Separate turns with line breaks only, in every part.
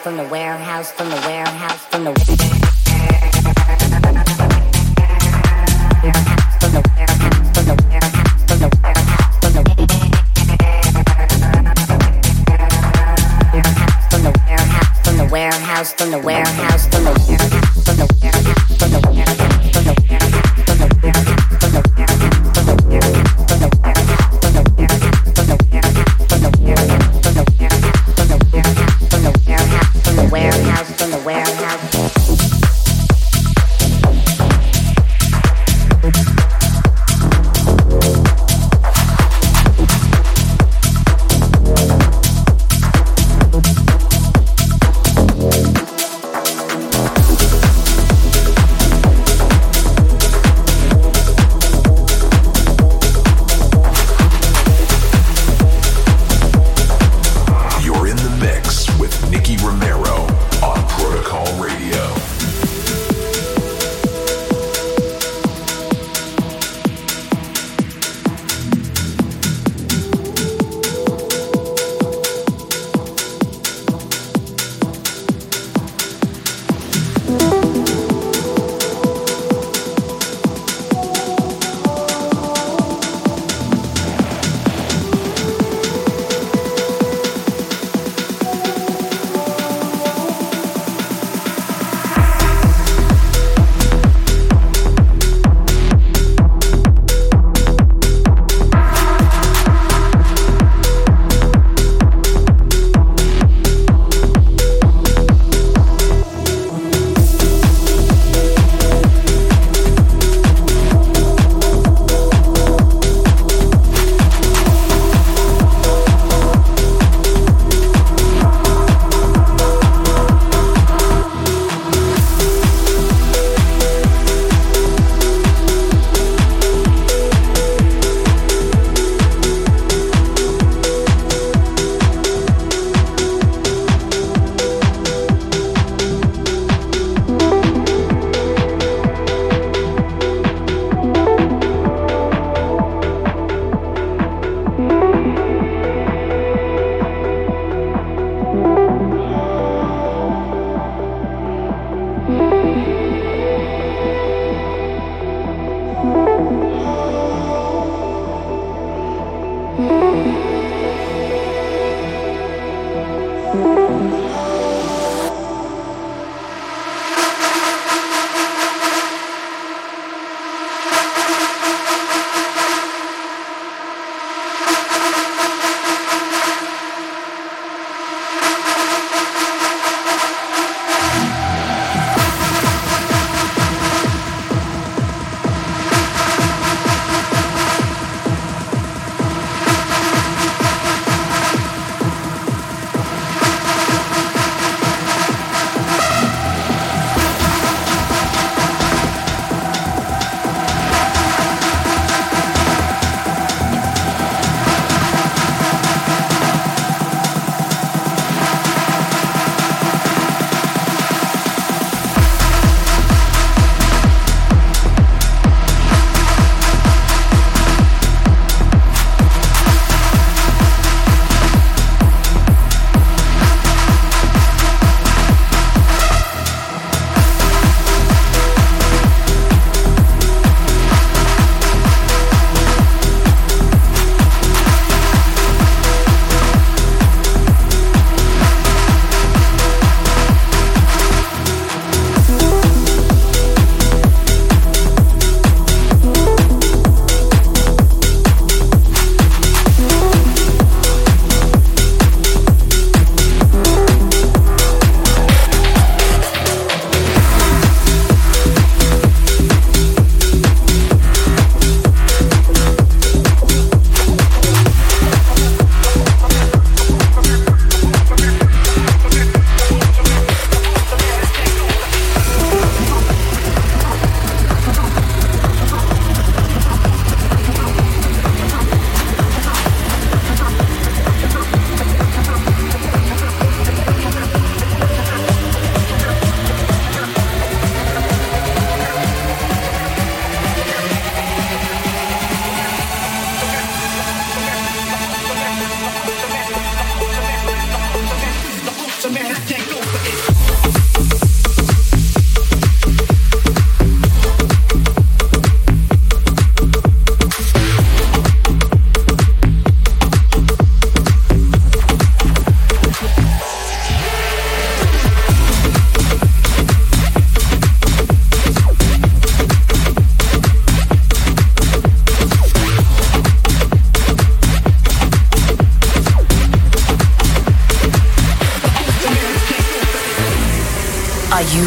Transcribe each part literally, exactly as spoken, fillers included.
from the warehouse, from the warehouse, from the warehouse, from the warehouse, from the from the from the from the warehouse, from the warehouse.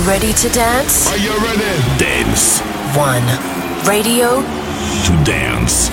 ready to dance?
Are you ready?
Dance.
One. Radio
To dance.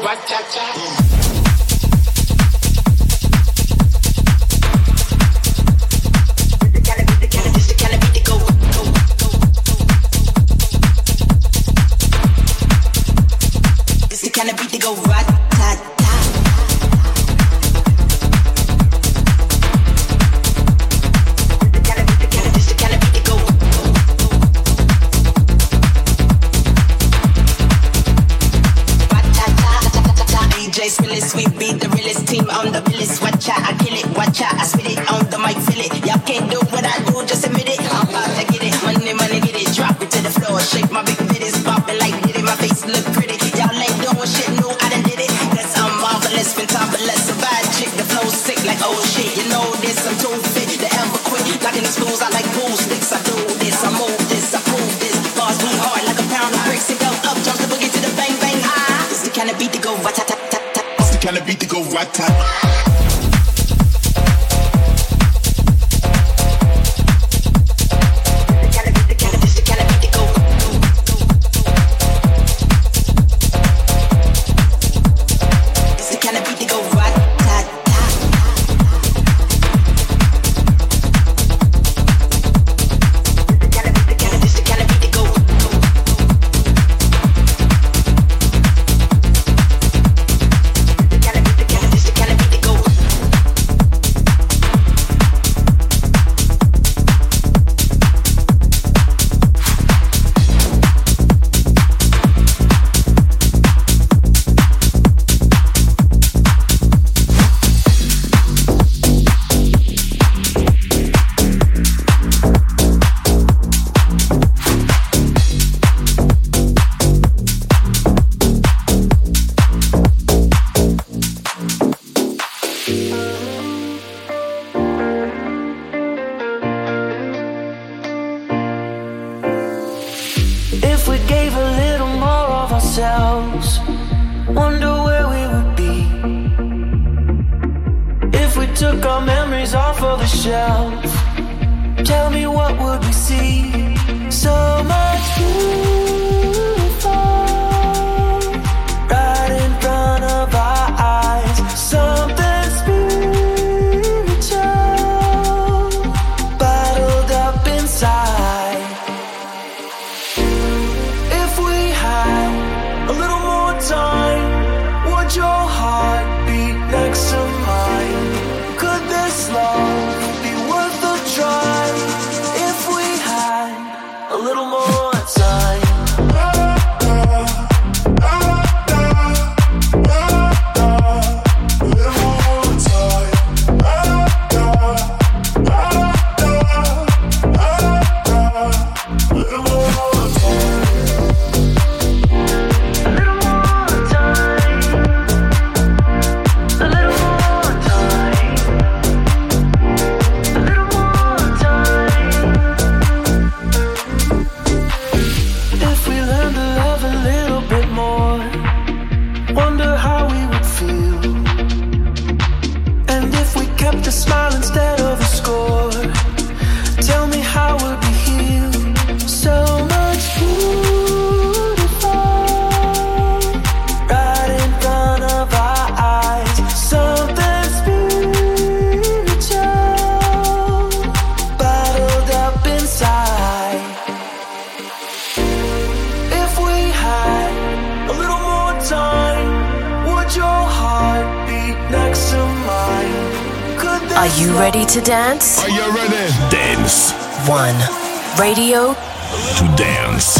Are you ready to dance?
Are you ready? Dance.
One. Radio.
To dance.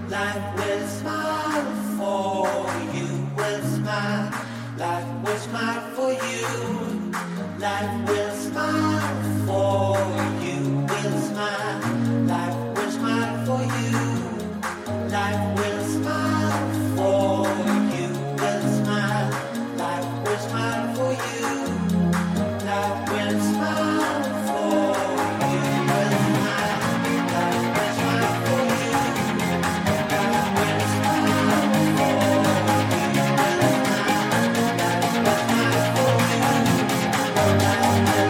Life will smile for you, will smile. Life will smile for you. Life will smile for you, will smile. Life will smile for you. Life will smile for you, will smile. Life will smile for you. Life will smile for you, will smile. Life will smile for you. Life will smile for you, will smile. Life will smile for you. Life will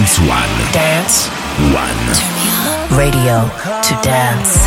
Dance One.
Dance
One.
Radio to dance.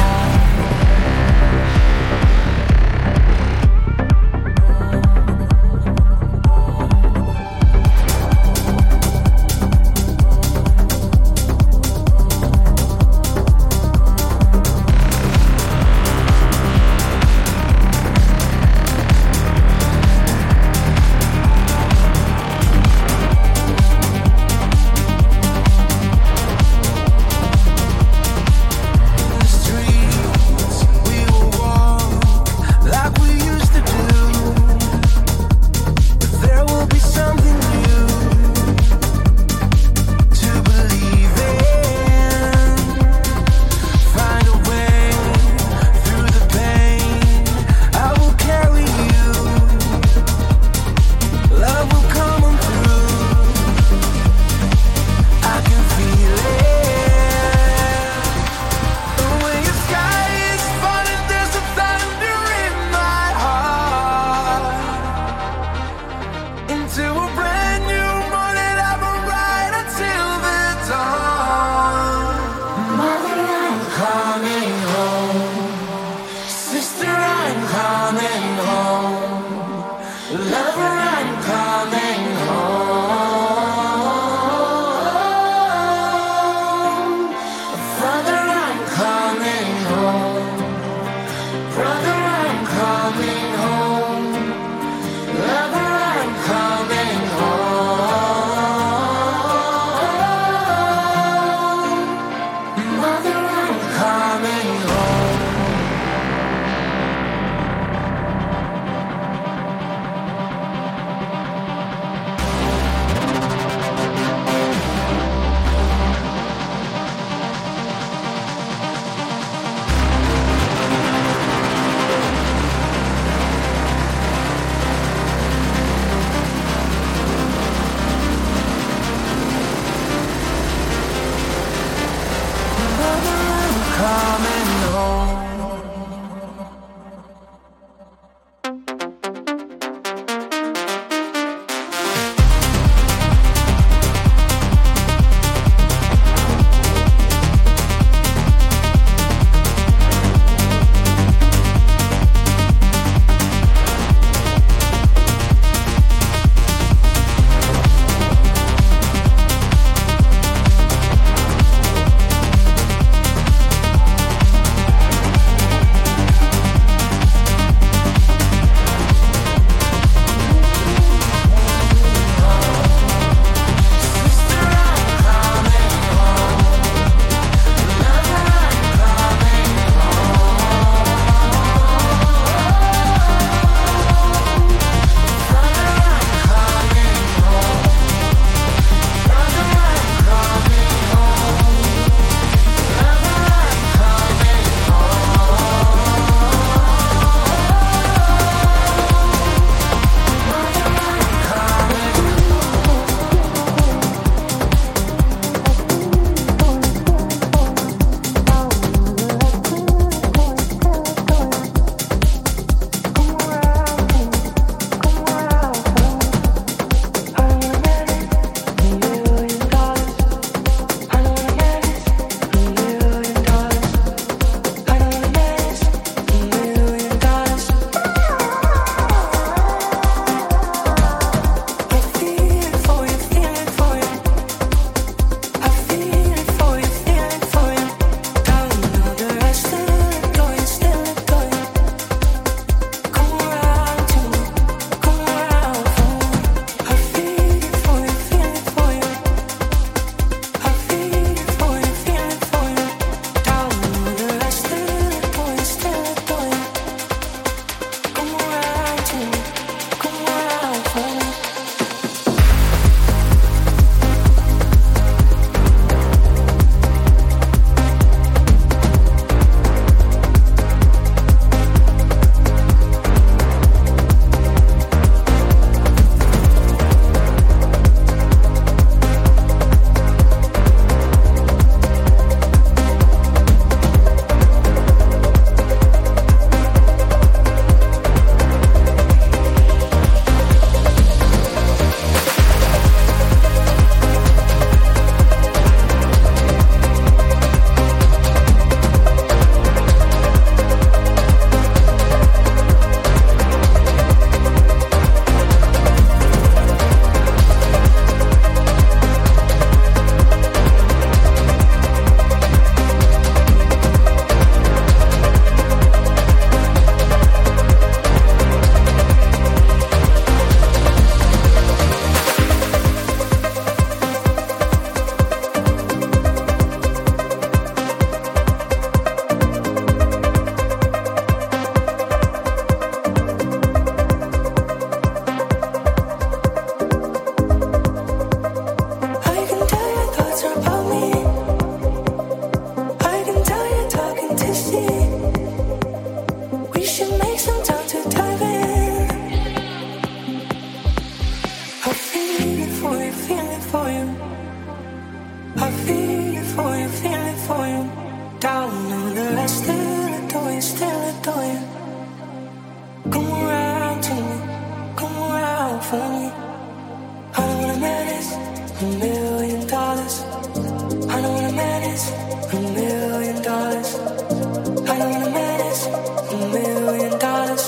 for you. Come around to me, come around for me. I don't want a man is a million dollars. I don't want a man is a million dollars. I don't want a man is a million dollars.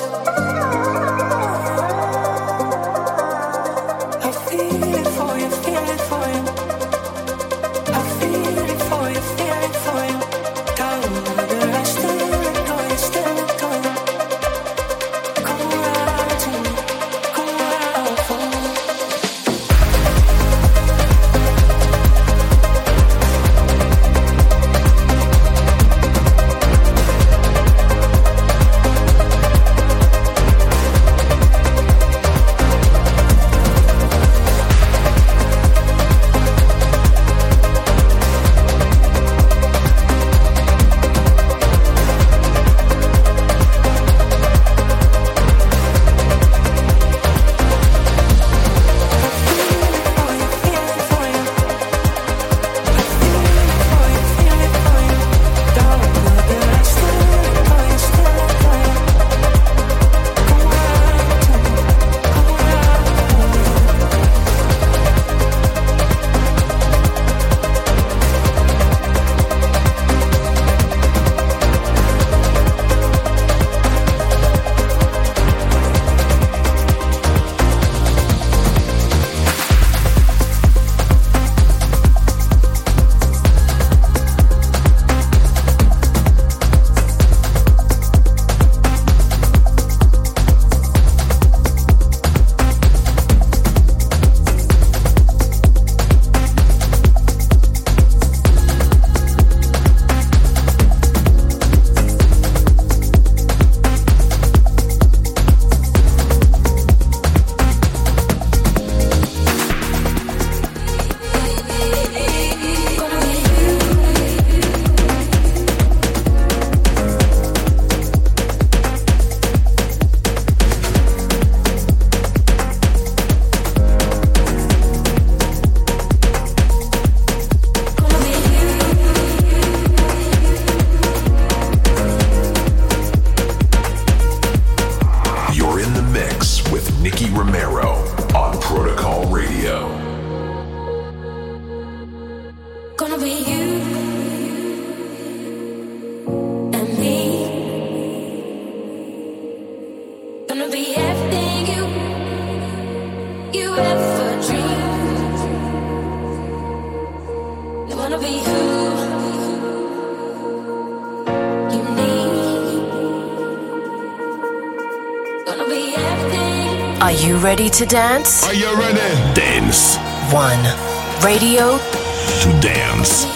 I feel it for you, feel it for you. I feel it for you, feel it for you. Down there, I still adore you, still adore you. Come around to me, come around for me.
Are you ready to dance?
Are you ready? Dance.
One. Radio
to dance.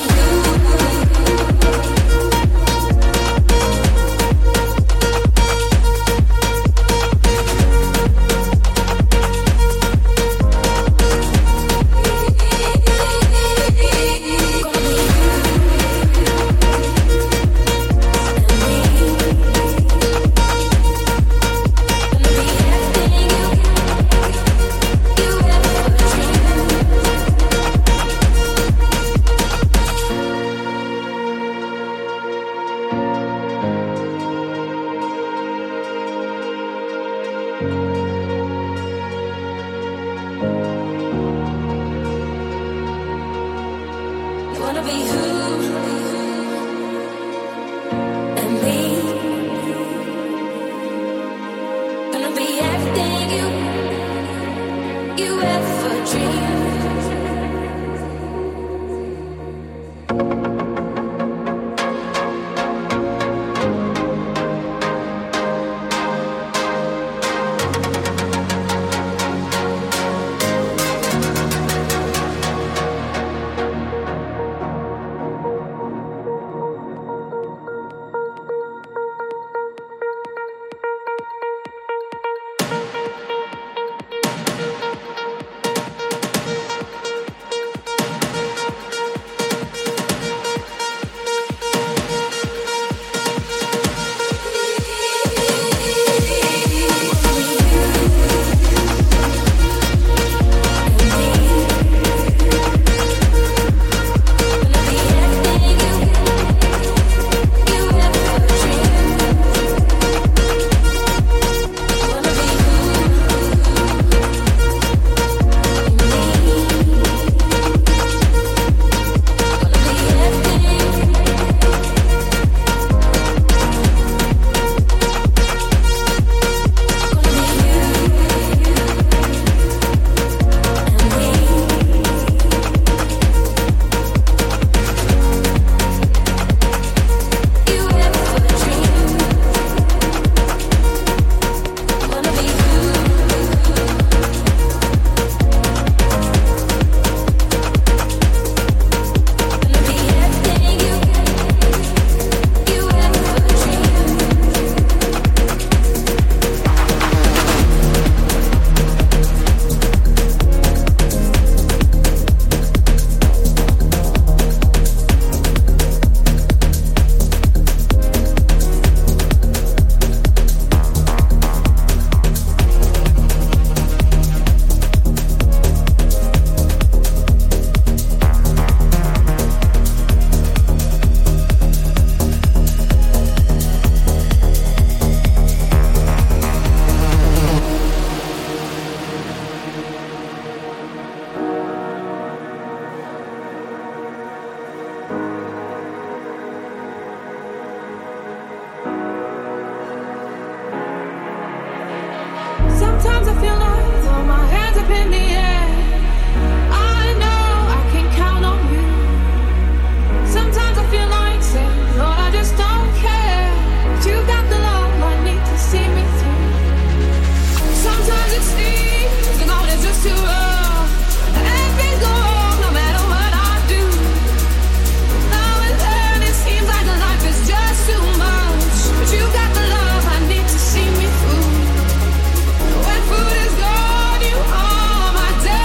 When food is gone, you are my day.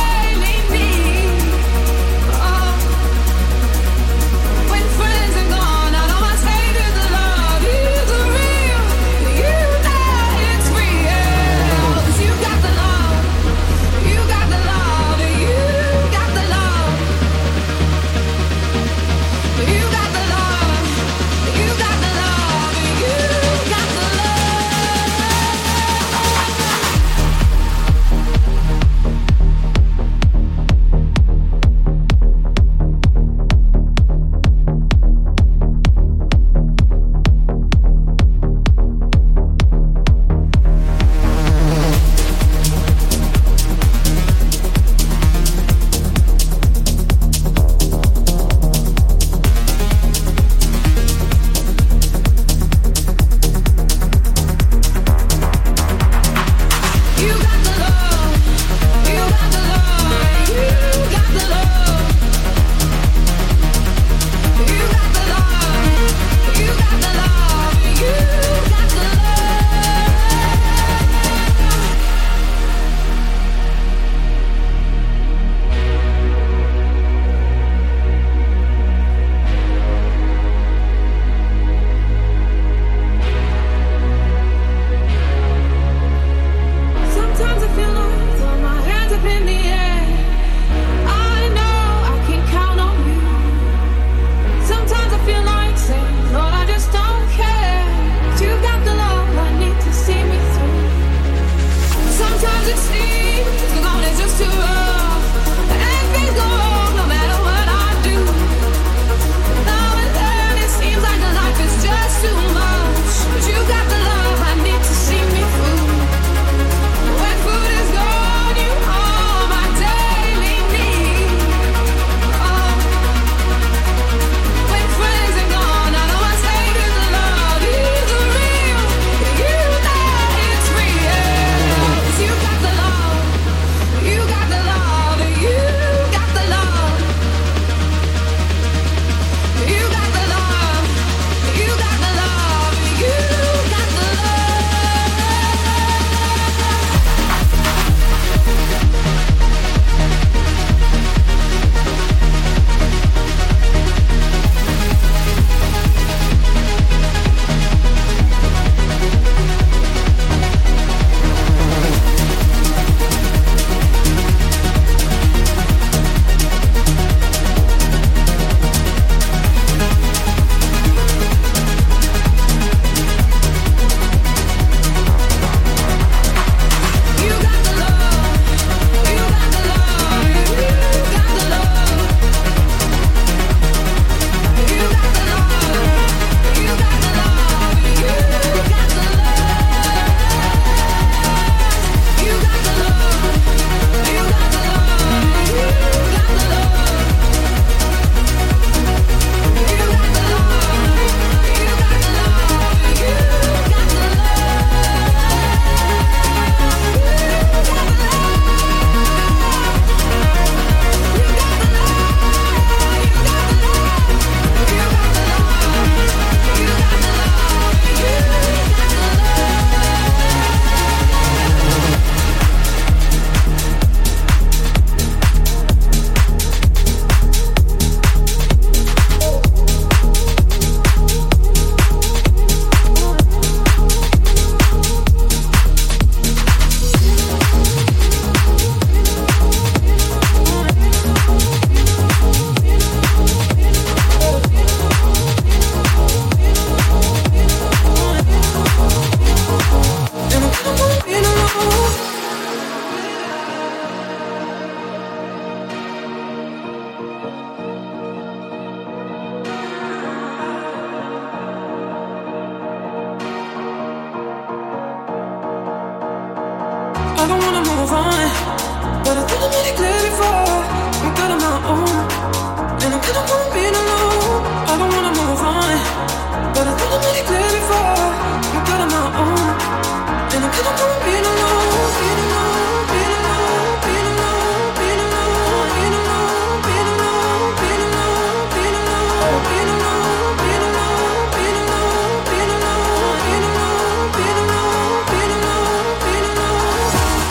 I don't wanna move on, but I think I made it clear before. I'm good on my own, and I'm kinda cool being alone. I don't wanna move on, but I think I made it clear before. I'm good on my own, and I'm kinda cool being alone. Being alone, being alone, being alone, being alone, being alone, being alone, being alone, being alone, being alone, being alone, being alone, being alone, being alone, being alone, being alone, being alone.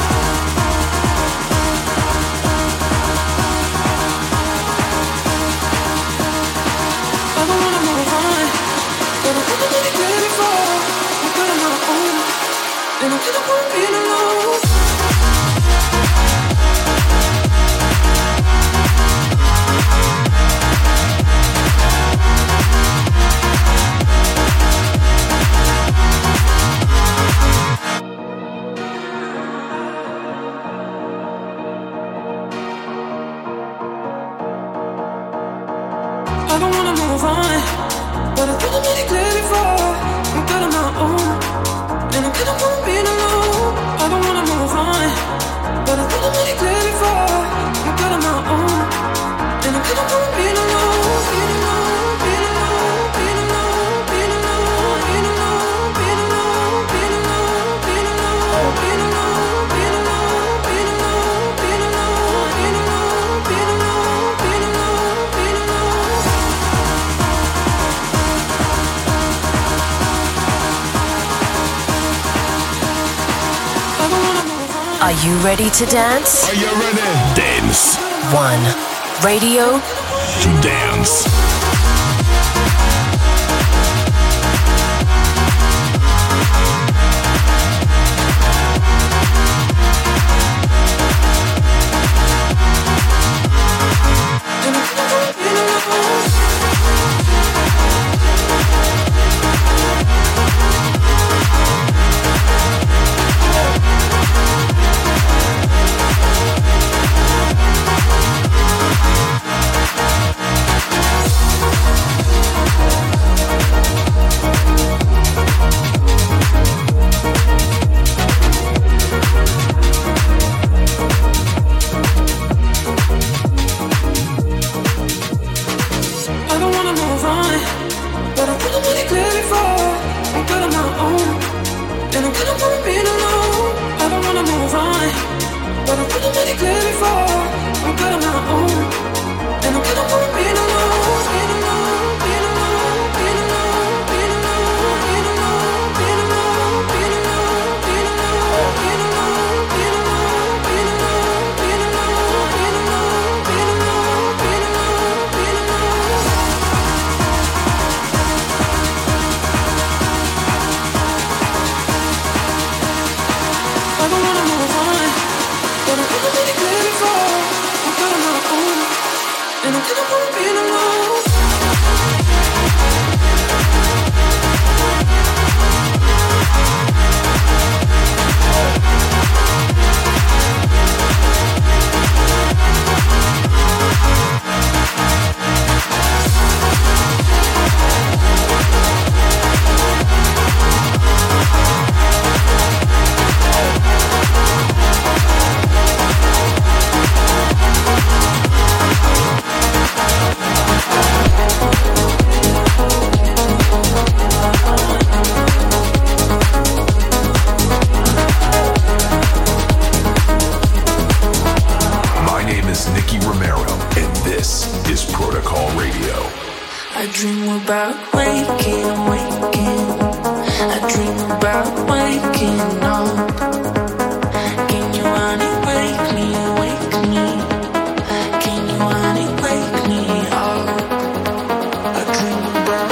I don't wanna move on, but I think I made it clear before. I'm good on my own, and I'm kinda cool being alone. I don't wanna move on, but I think I made it clear before. I'm good on my own, and I'm kinda cool being alone. I don't wanna move on, but I think I made it clear before. I'm good on my own, and I'm kinda cool being alone. Being alone, being alone, being alone, being alone, being alone, being alone, being alone, being alone, being alone, being alone, being alone, being alone, being alone, being alone, being alone, being alone. I don't wanna move on.
Are you ready to dance?
Are you ready? Dance
One. Radio
to dance.
And I'm kinda cool being alone. I don't wanna move on, but I think I made it clear before. I'm good on my own, and I'm kinda cool being alone. I don't wanna move on, but I think I made it clear before. I'm good on my own, and I'm kinda cool being alone. Being alone, being alone, being alone, being alone, being alone, being alone, being alone, being alone, being alone, being alone, being alone, being alone, being alone, being alone, being alone, being alone. I don't wanna move on, but I think I made it clear before. I'm good on my own, and I'm kinda cool being alone.
My name is Nicky Romero, and this is Protocol Radio.
I dream about waking, waking. I dream about waking up. Can you honey wake me, wake me? Can you honey wake me up? I dream about.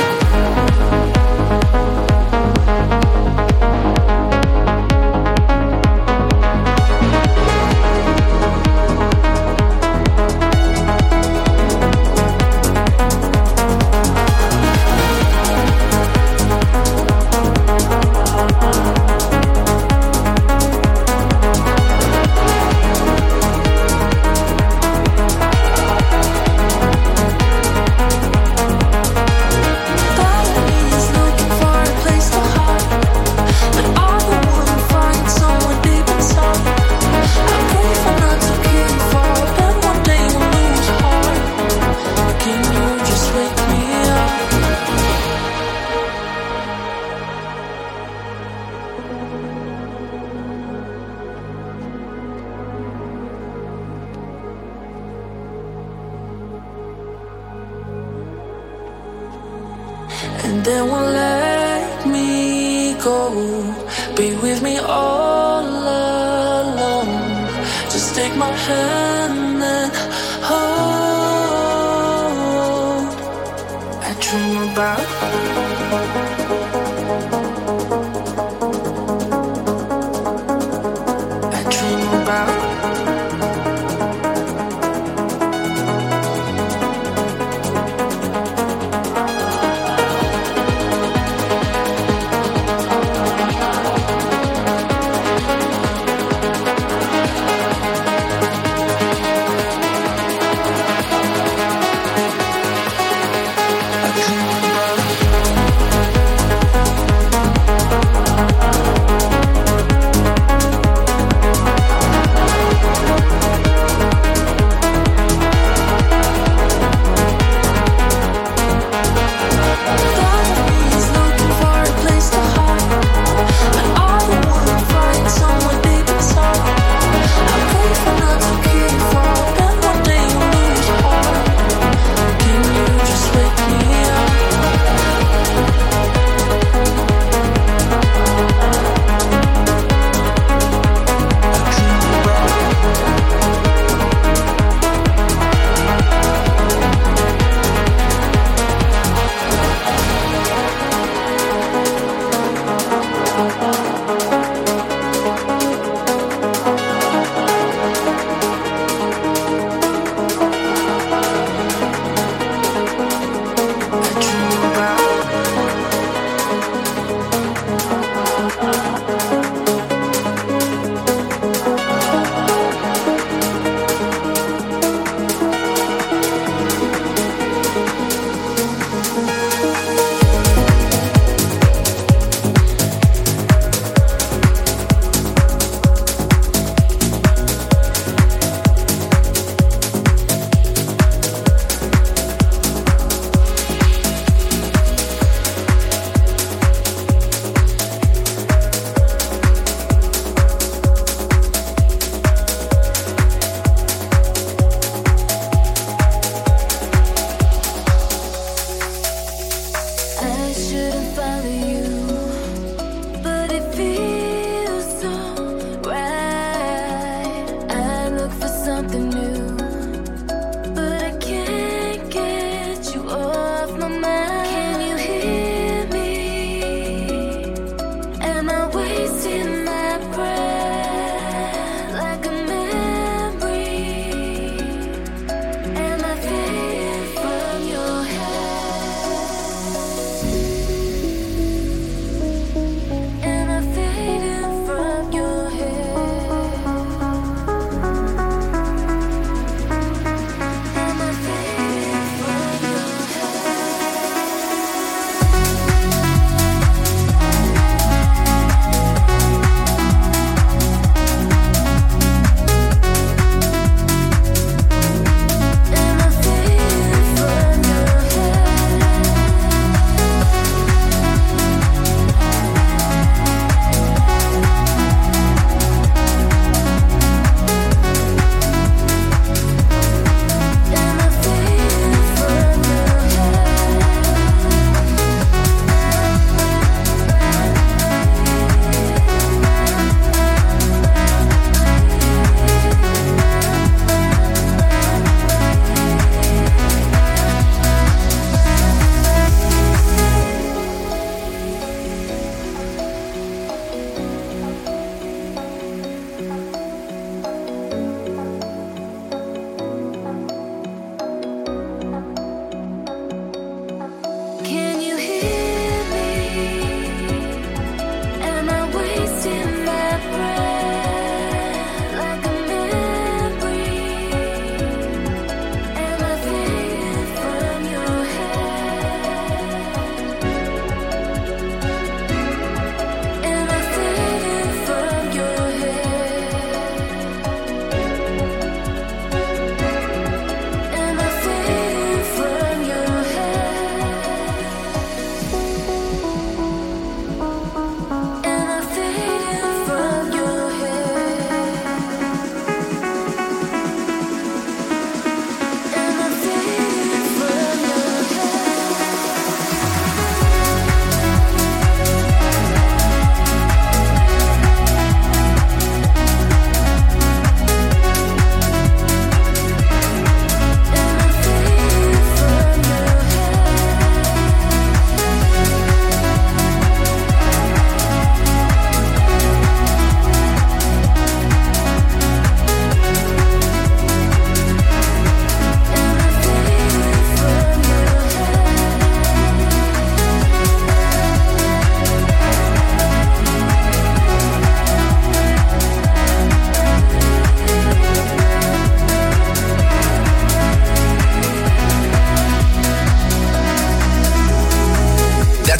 and then won't let me go. Be with me all alone. Just take my hand and hold. I dream about I dream about I dream about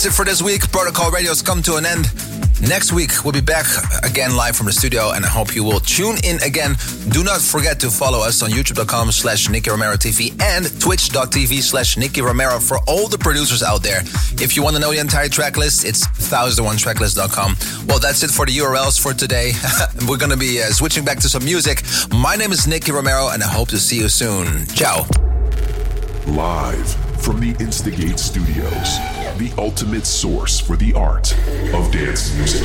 That's it for this week. Protocol Radio's come to an end. Next week, we'll be back again live from the studio, and I hope you will tune in again. Do not forget to follow us on youtube.com slash Nicky Romero TV and twitch.tv slash Nicky Romero for all the producers out there. If you want to know the entire track list, it's one thousand one tracklist dot com. Well, that's it for the U R Ls for today. We're going to be uh, switching back to some music. My name is Nicky Romero, and I hope to see you soon. Ciao.
Live from the Instigate Studios, the ultimate source for the art of dance music.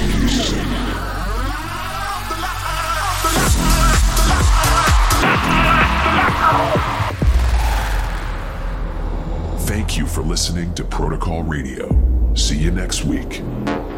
Thank you for listening to Protocol Radio. See you next week.